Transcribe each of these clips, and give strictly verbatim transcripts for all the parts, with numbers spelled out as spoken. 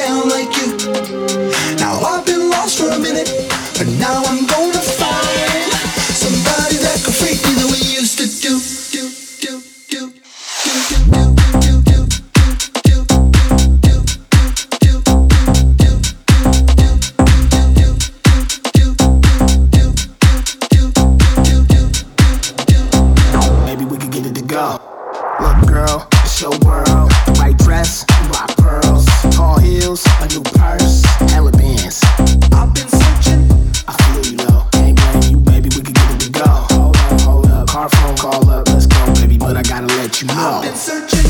down like you. Now I've been lost for a minute, but now I'm gonna find somebody that could freak me the way you used to do. Do, do, do, do, do, do, do, do, do. Go. Look, girl, it's your world. White dress, rock pearls, tall heels, a new purse, hella bands. I've been searching. I feel you though. Ain't blaming you, baby. We could get it to go. Hold up, hold up. Car phone call up. Let's go, baby. But I gotta let you know. I've been searching.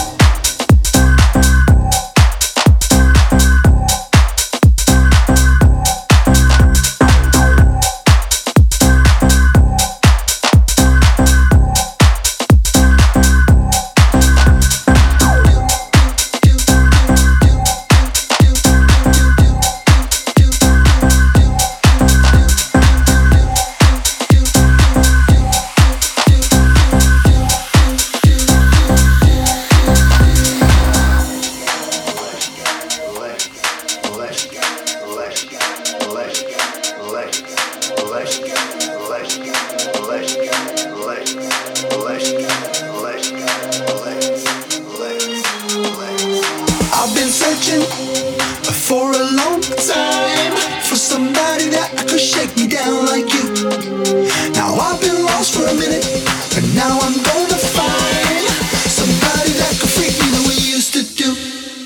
I've been searching for a long time for somebody that could shake me down like you. Now I've been lost for a minute, but now I'm gonna find somebody that could freak me the way you used to do.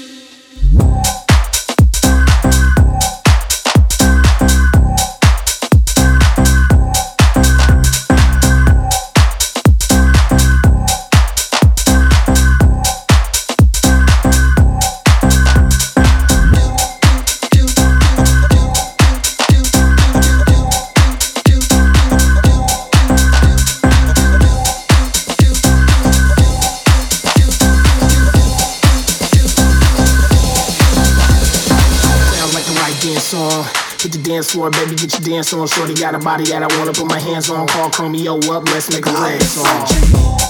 On. Hit the dance floor, baby, get your dance on. Shorty got a body that I wanna put my hands on. Call Chromeo up, let's make a dance song.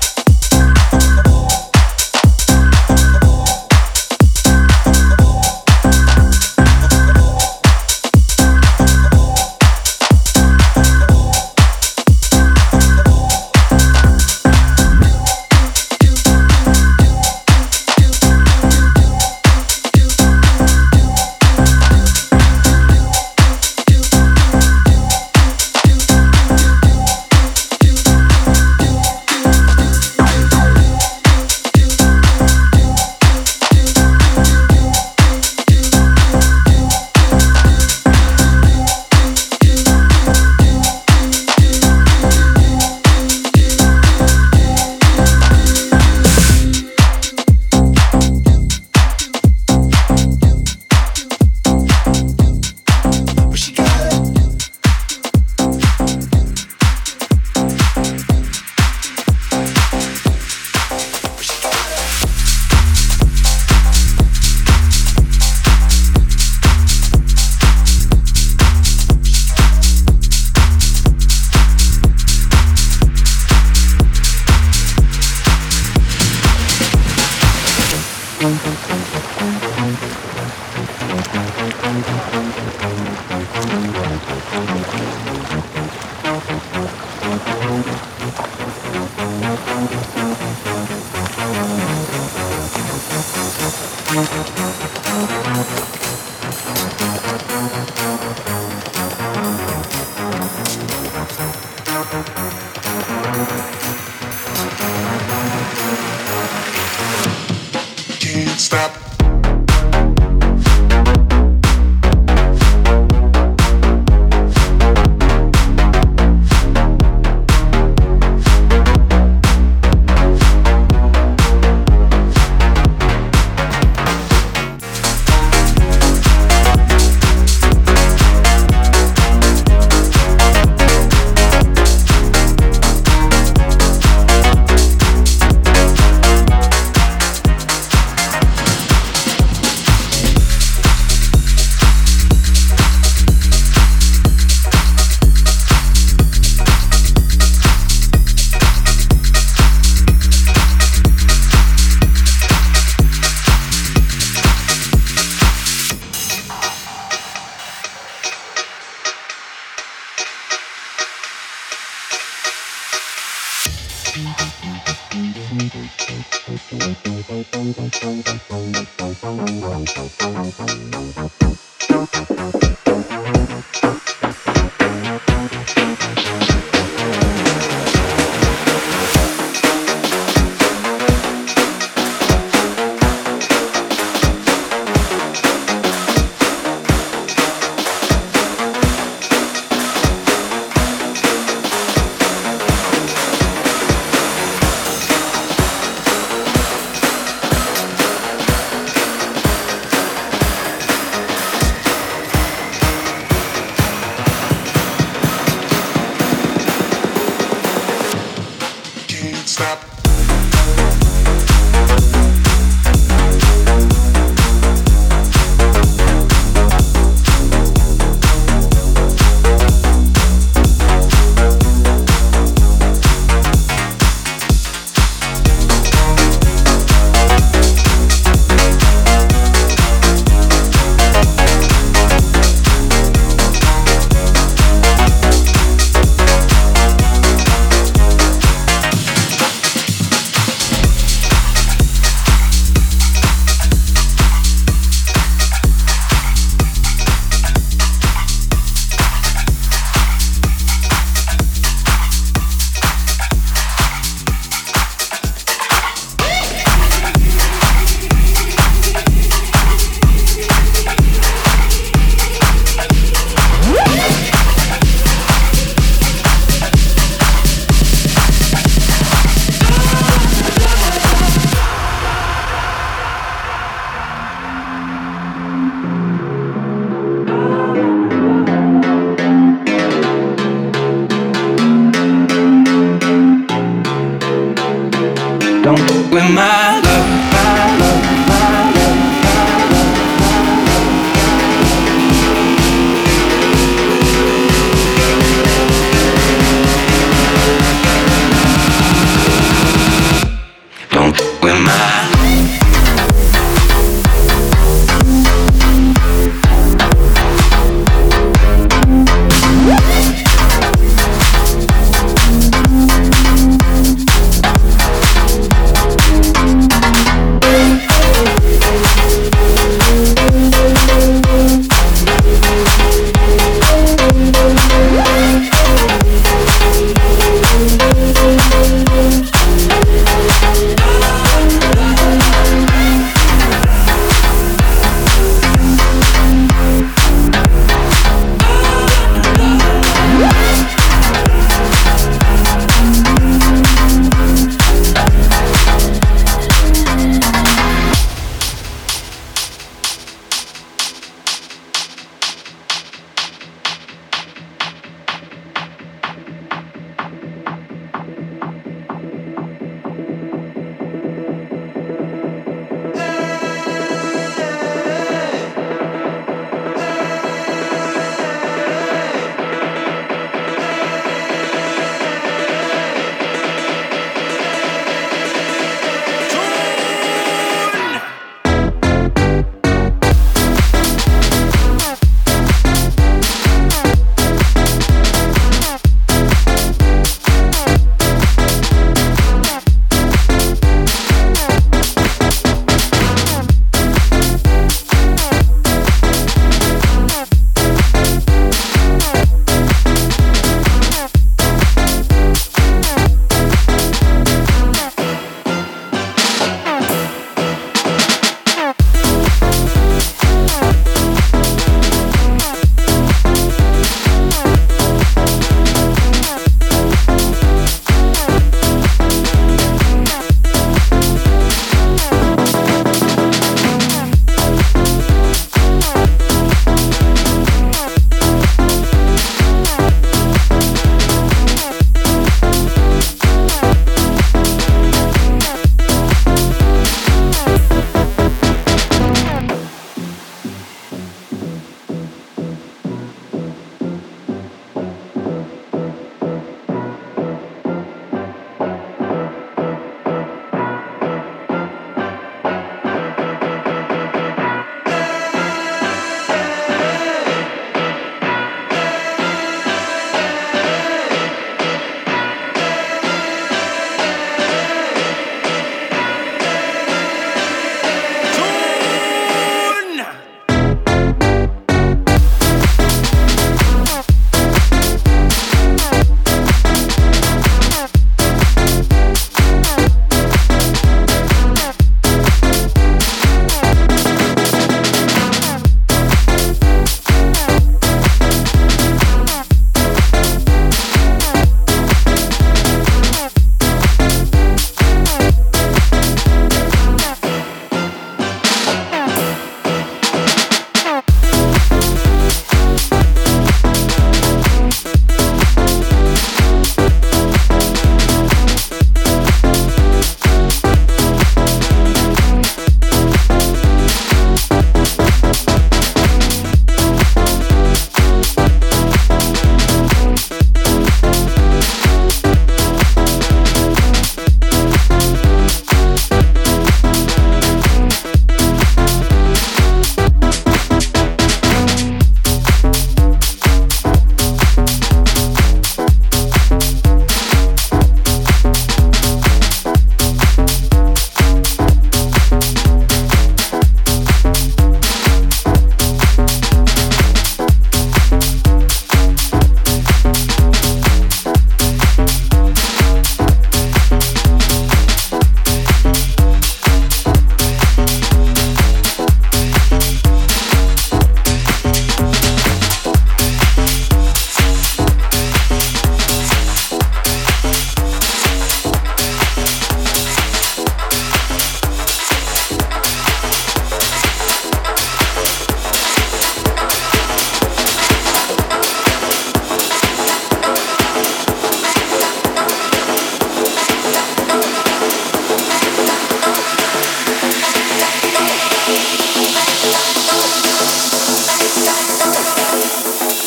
Can't stop.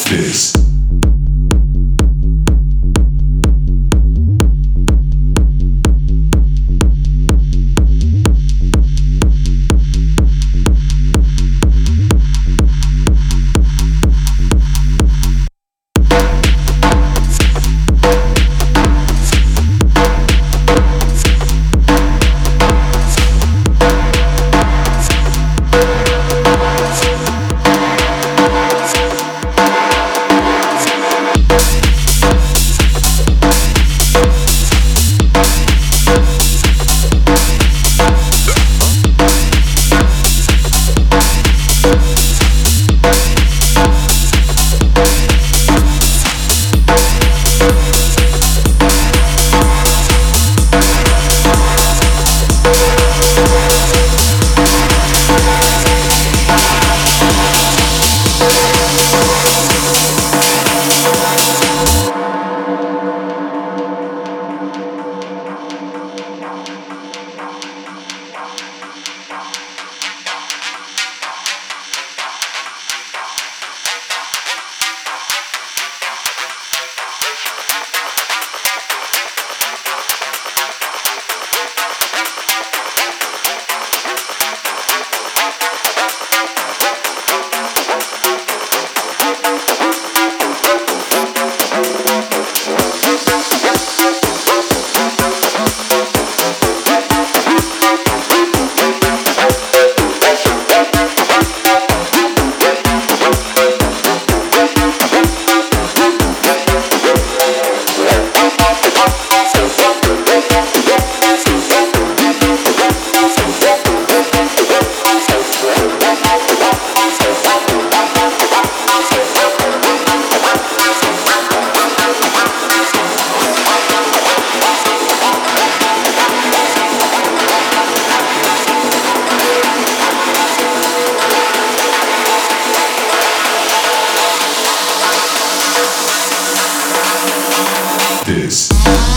this. This.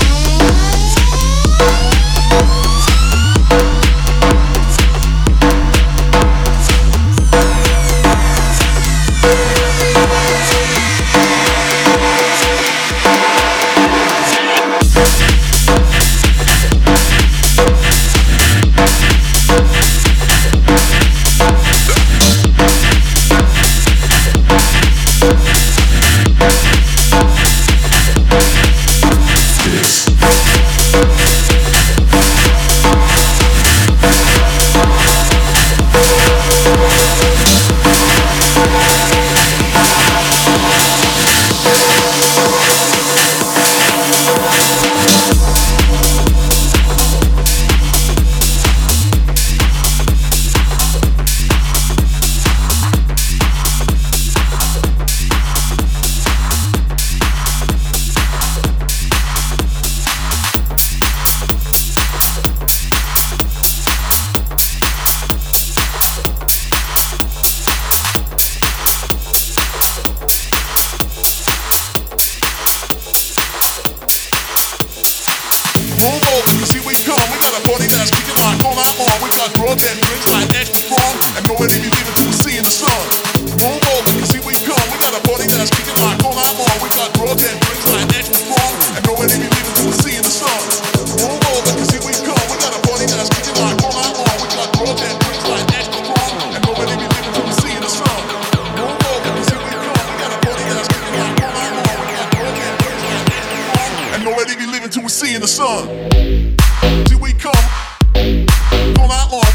Seeing the sun. Till we come, all night long.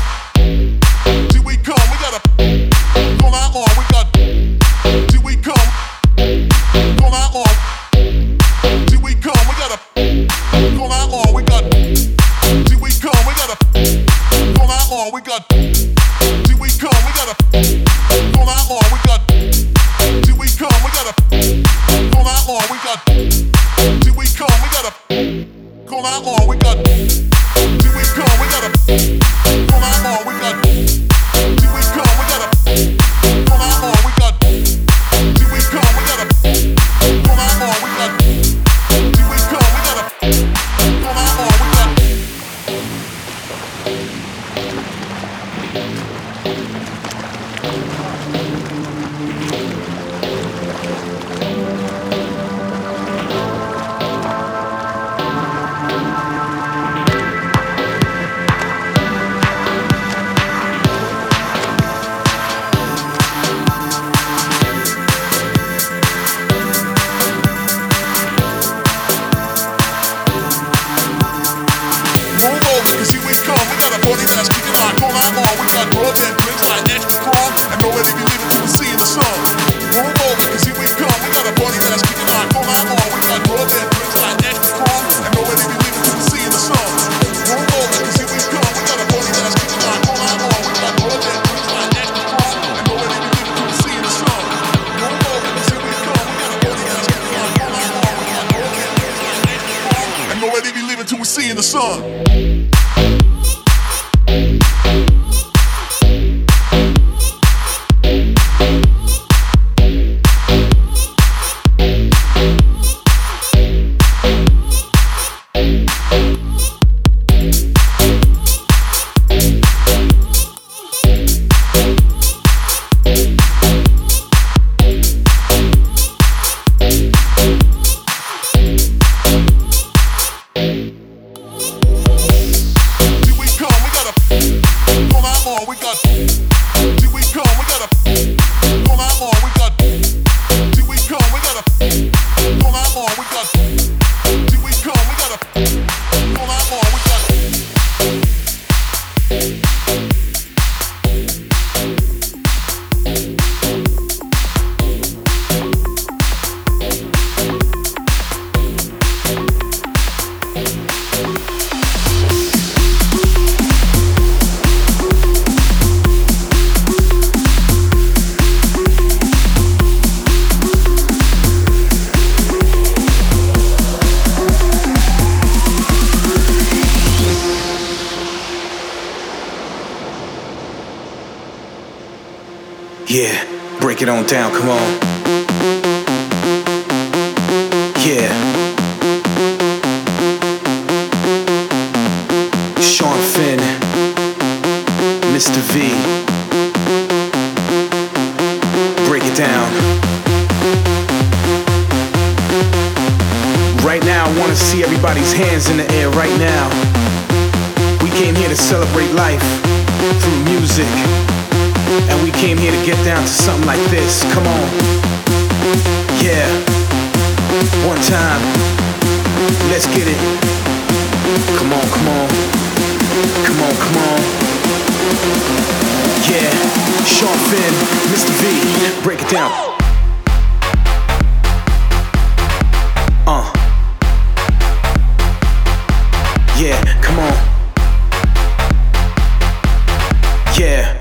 Till we come, we gotta all night long. We got till we come, all night long. Till we come, we gotta all night long. We got till we come, we gotta all night long. We got till we come, we gotta all night long. We got till we come, we gotta all night long. We got till we come, we gotta. All night long, we got, here we come. seeing the sun. Yeah, break it on down, come on. Yeah. Sean Finn, Mister V. Break it down. Right now, I wanna see everybody's hands in the air right now. We came here to celebrate life through music. And we came here to get down to something like this. Come on. Yeah. One time. Let's get it. Come on, come on. Come on, come on. Yeah. Sean Finn, Mister V. Break it down. Uh. Yeah, come on. Yeah.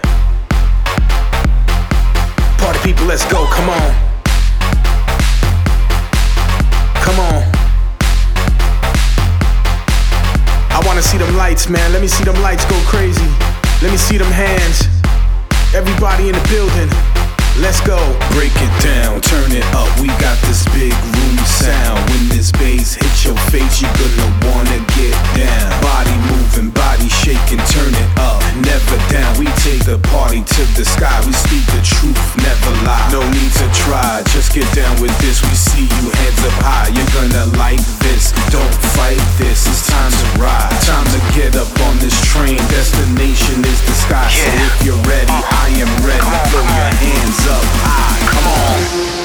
Party people, let's go, come on. Come on. I wanna see them lights, man. Let me see them lights go crazy. Let me see them hands. Everybody in the building. Let's go. Break it down, turn it up. We got this big room sound. When this bass hits your face, you're gonna wanna get down. Body moving, body shaking, turn it up. Never down. We take the party to the sky. We speak the truth, never lie. No need to try, just get down with this. We see you heads up high. You're gonna like this. Don't fight this. It's time to ride. Time to get up on this train. Destination is the sky. Yeah. So if you're ready, I am ready. Come on, throw come your on. hands up high. Come on.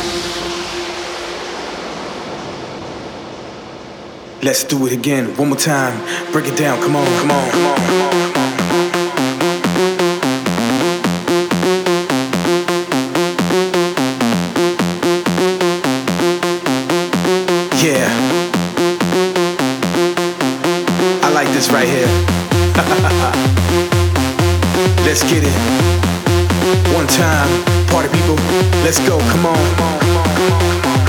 Let's do it again, one more time. Break it down, come on, come on, come on, come on, come on. Yeah. I like this right here. Let's get it. One time, party people, let's go, come on, come on, come on, come on, come on.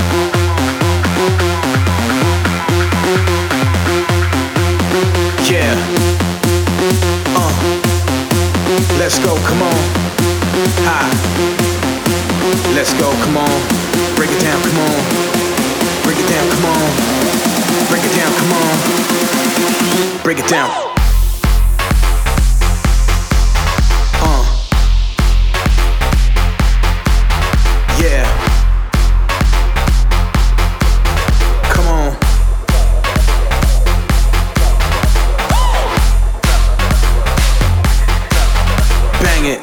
Yeah. Uh. Let's go, come on. Hi. Let's go, come on. Break it down, come on. Break it down, come on. Break it down, come on. Break it down. Uh. Yeah. Come on. Bang it.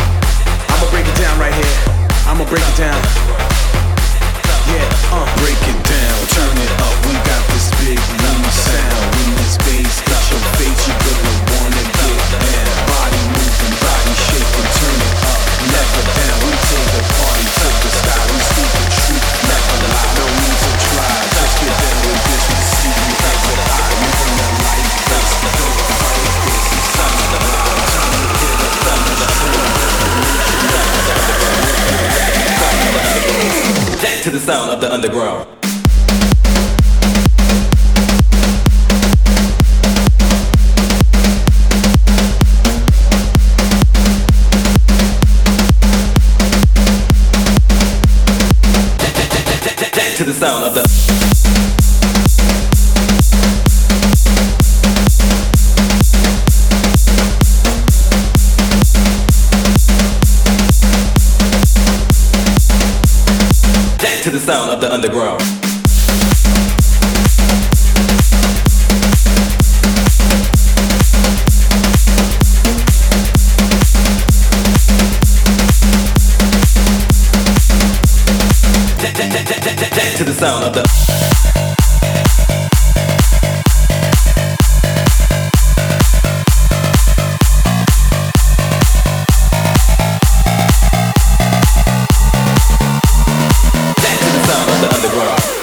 I'ma break it down right here. I'ma break it down. Yeah, uh. Break it to the sound of the underground. To the sound of the to the sound of the underground. To the sound of the underground.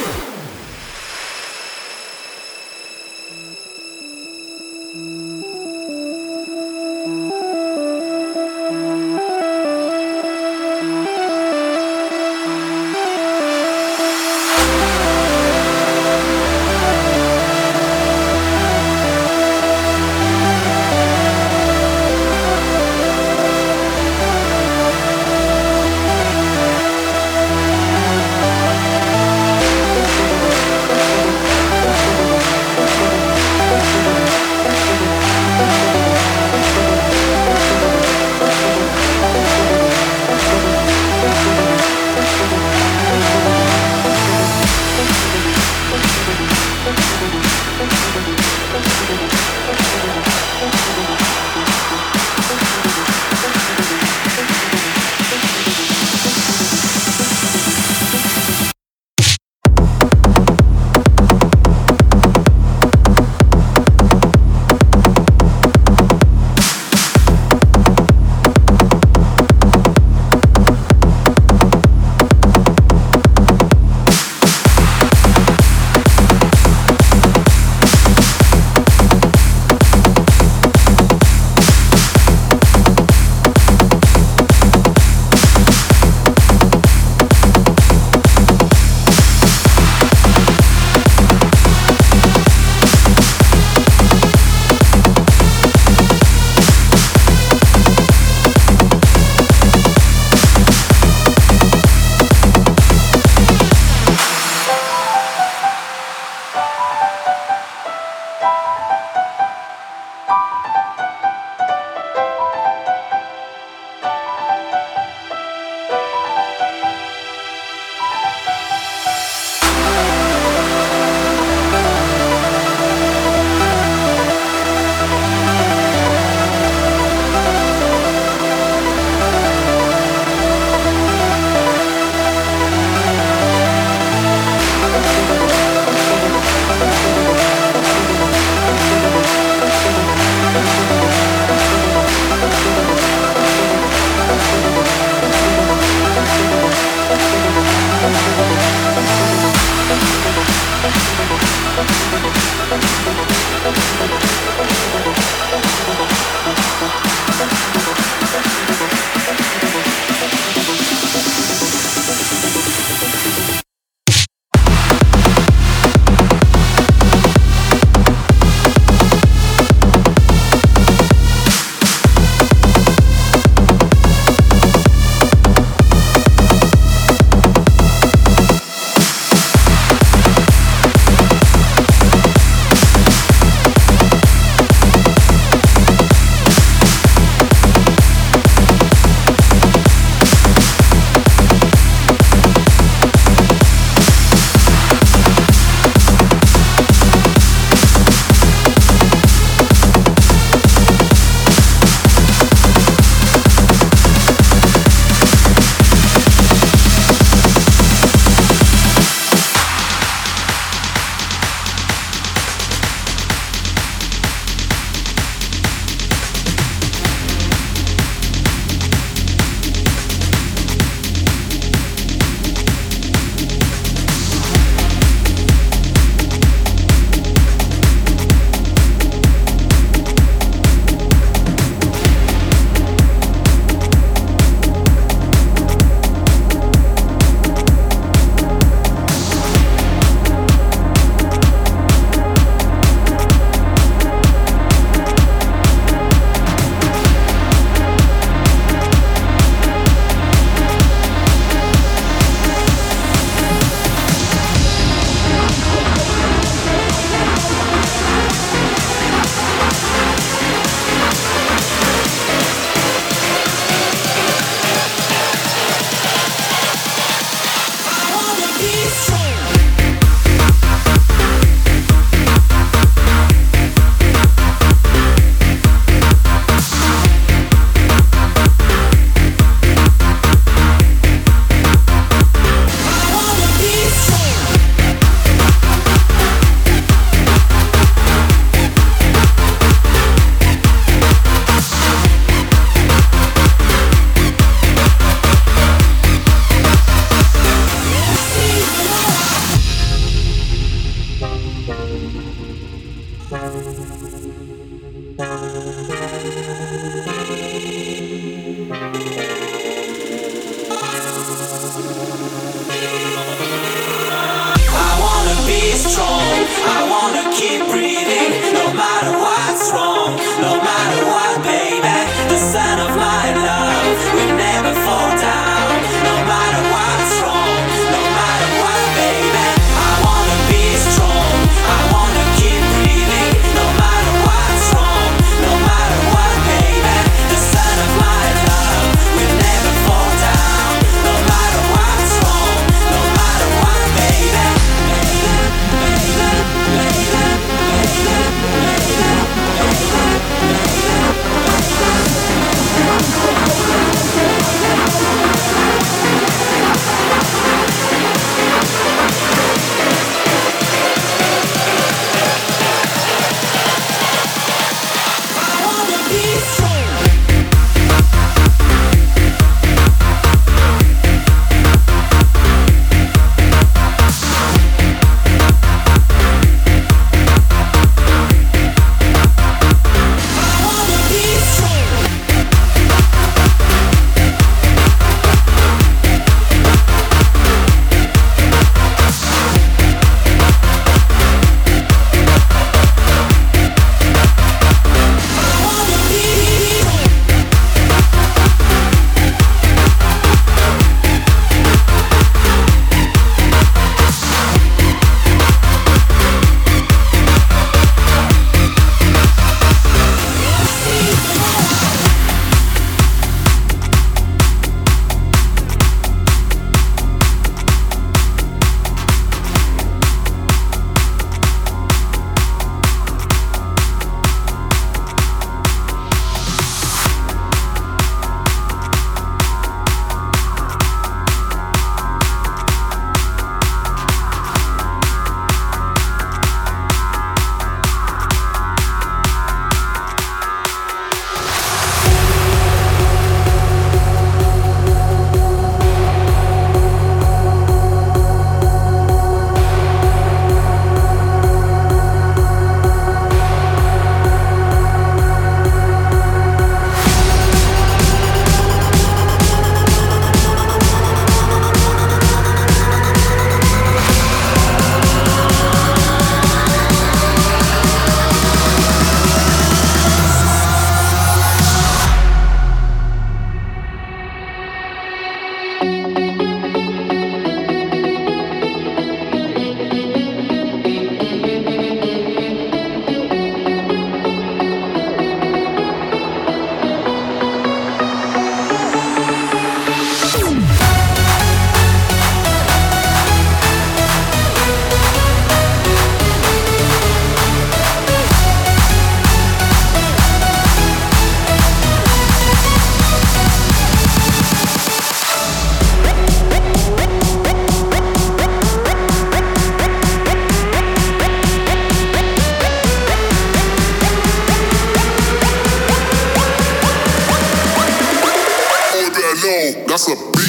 on, that's a beat.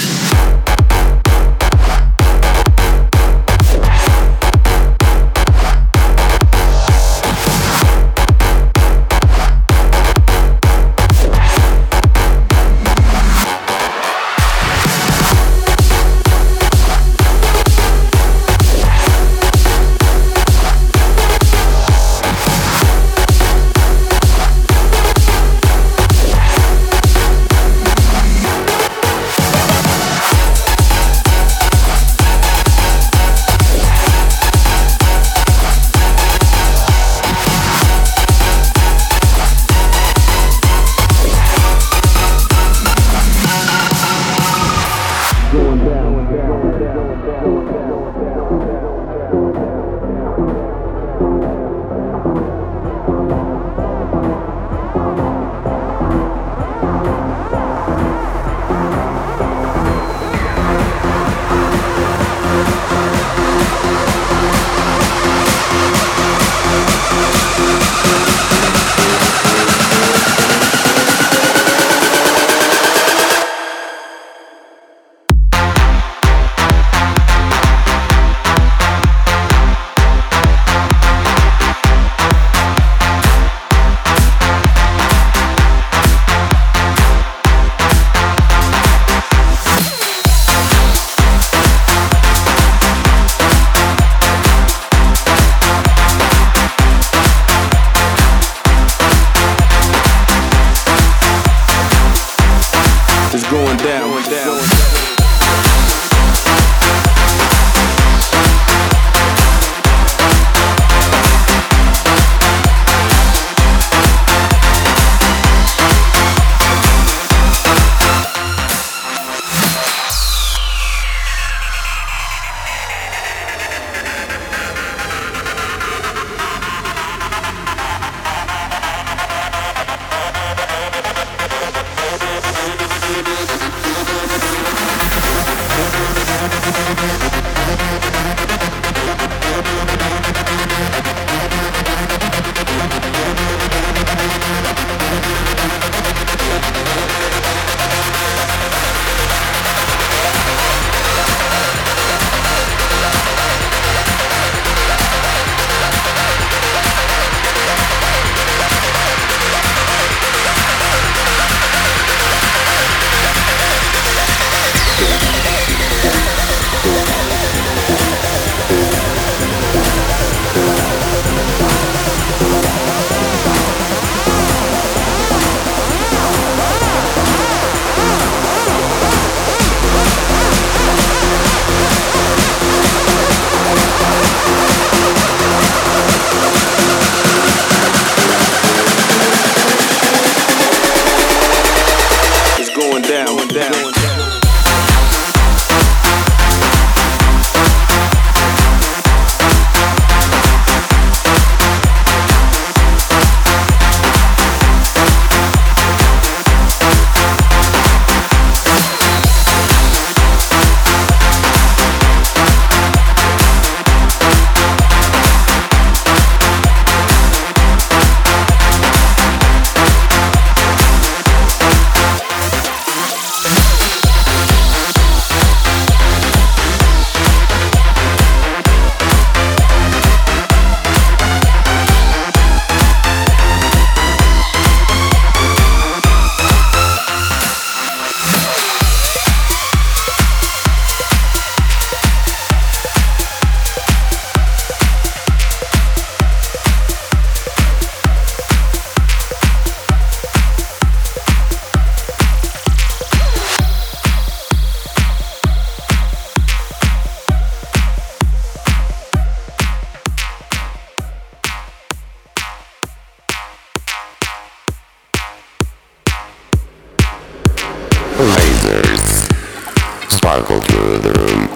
Lasers sparkle through the room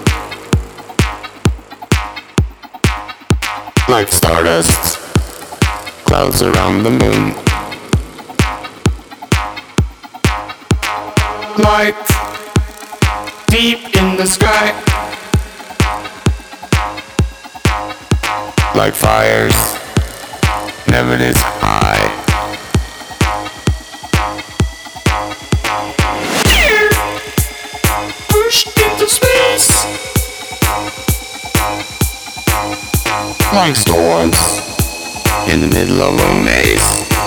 like stardust, clouds around the moon. Light deep in the sky, like fires never this high. like storms in the middle of a maze.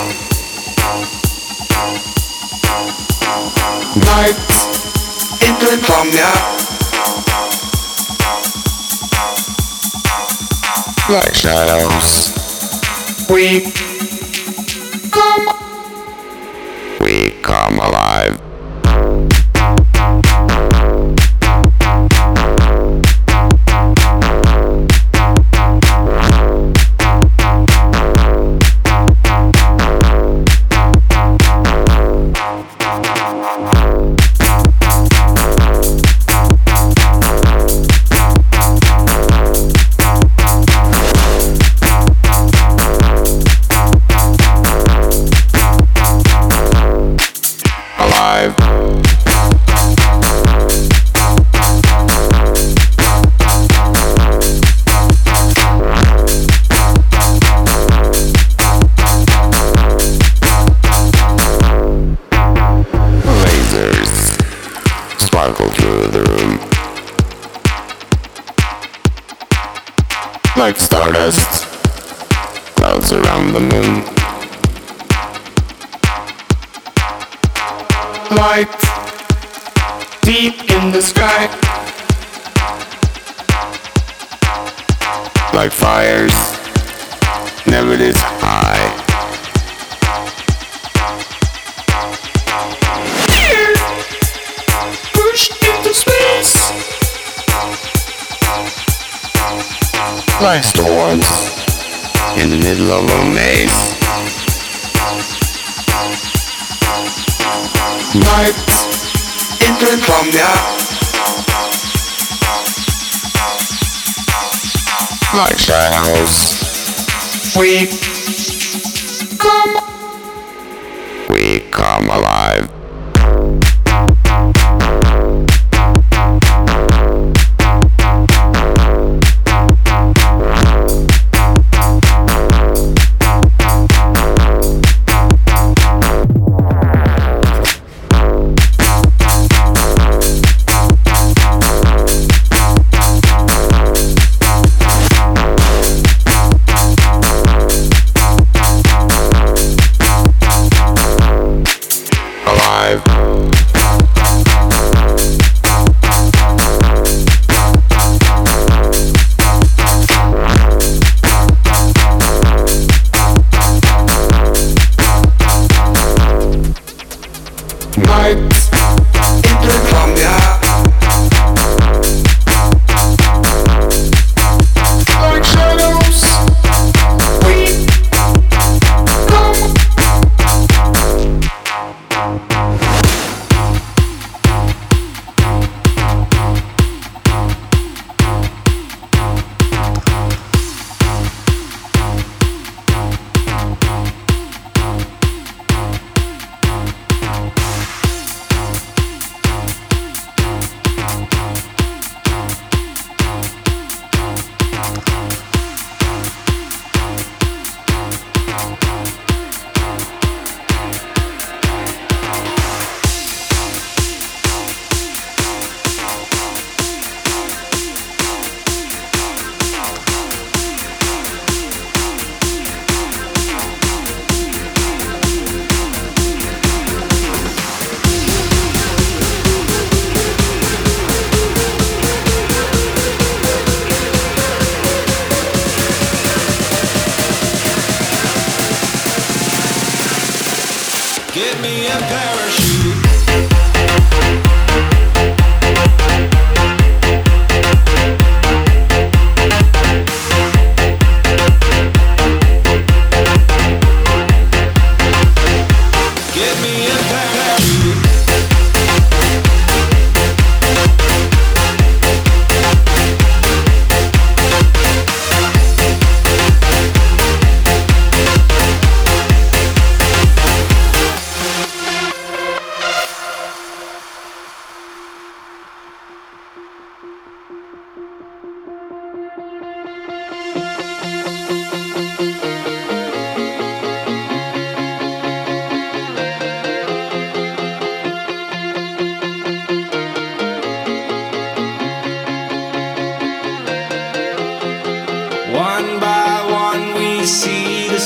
Nights into insomnia, like shadows. We come, we come alive. Sparkle through the room like stardust, clouds around the moon. Light deep in the sky, like fires never this high. Into space, like storms in the middle of a maze. Nights into insomnia, like shadows. We come, we come alive. Give me a parachute. Give me a parachute.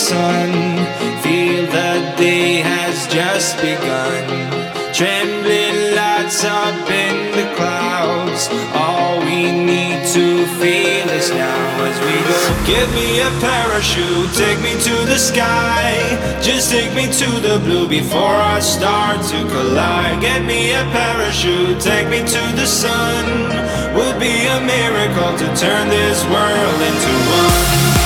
sun. Feel the day has just begun. Trembling lights up in the clouds. All we need to feel is now as we go. Give me a parachute, take me to the sky. Just take me to the blue before I start to collide. Get me a parachute, take me to the sun. Would be a miracle to turn this world into one.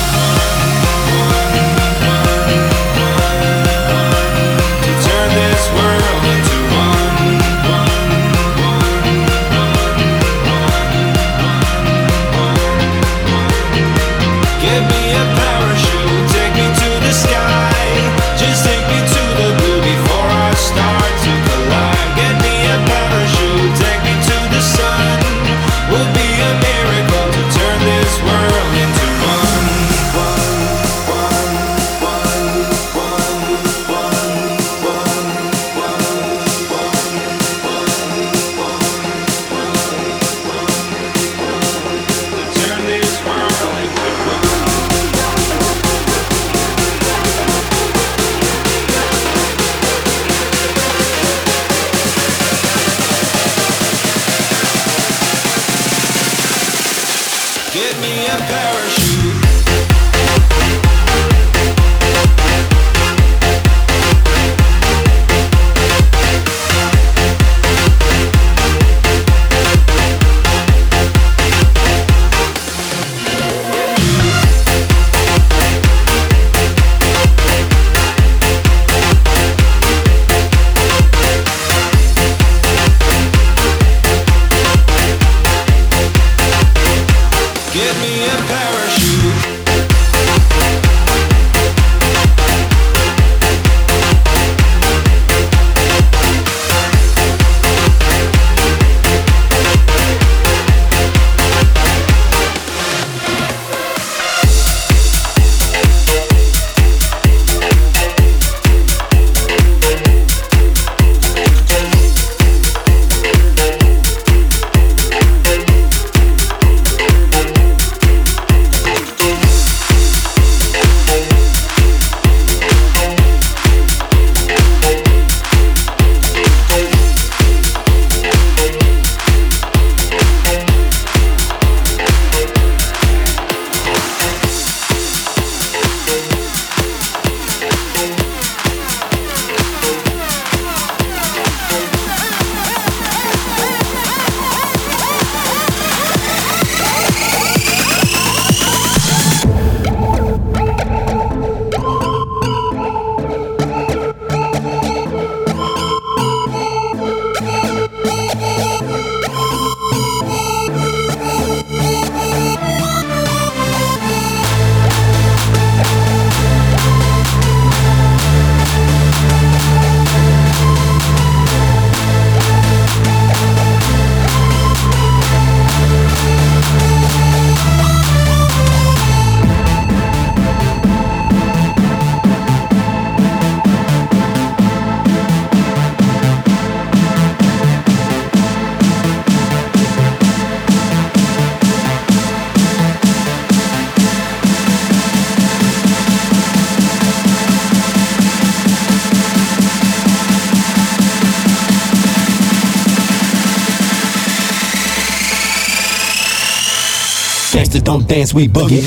To turn this world into one. Give me a parachute, take me to the sky. Just take me to the blue before I start to collide. Get me a parachute, take me to the sun. Would be a miracle to turn this world into one. Give me a parachute. Give me a parachute. Gangsters don't dance, we boogie.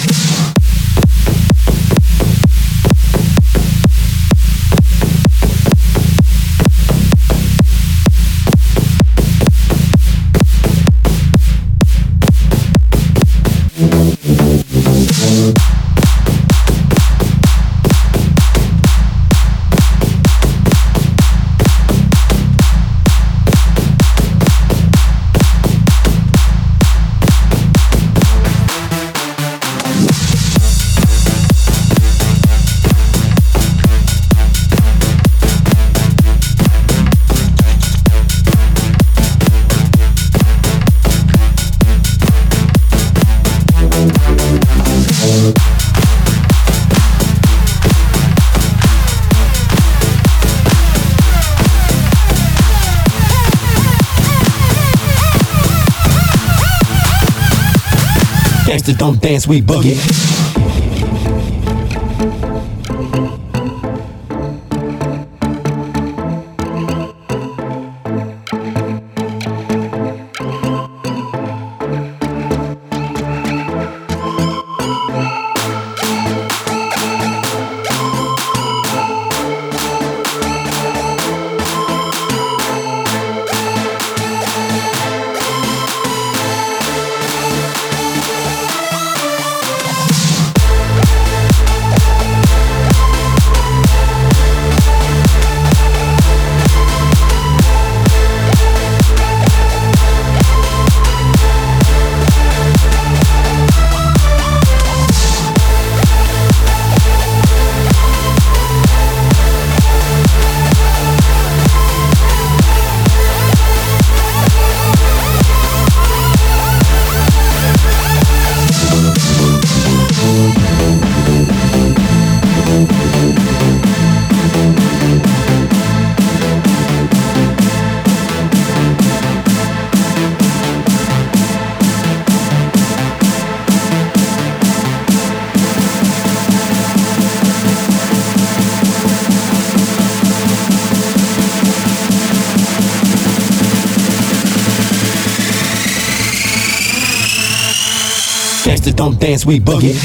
Gangsters don't dance, we boogie. gangsters don't dance, we boogie.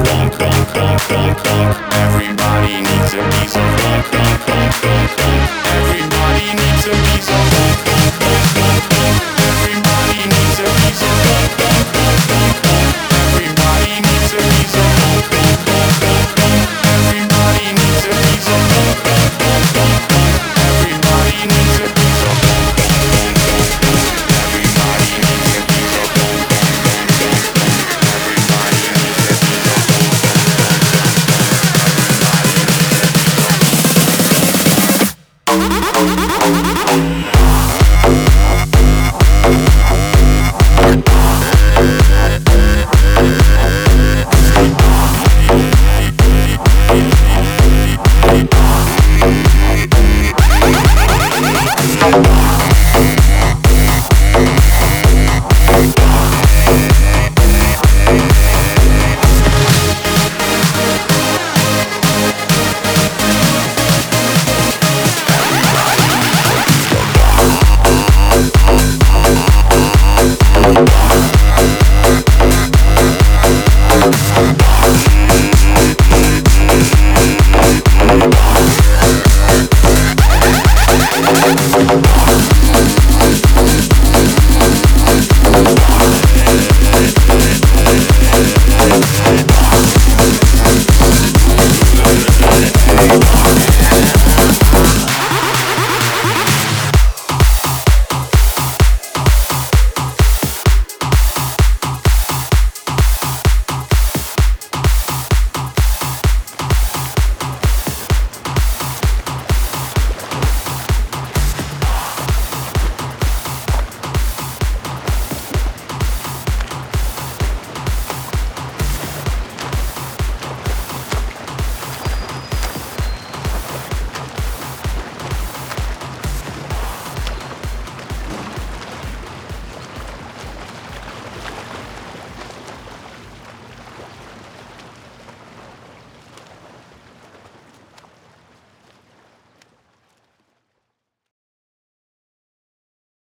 funk, funk, funk, funk, funk. Everybody needs a piece of funk.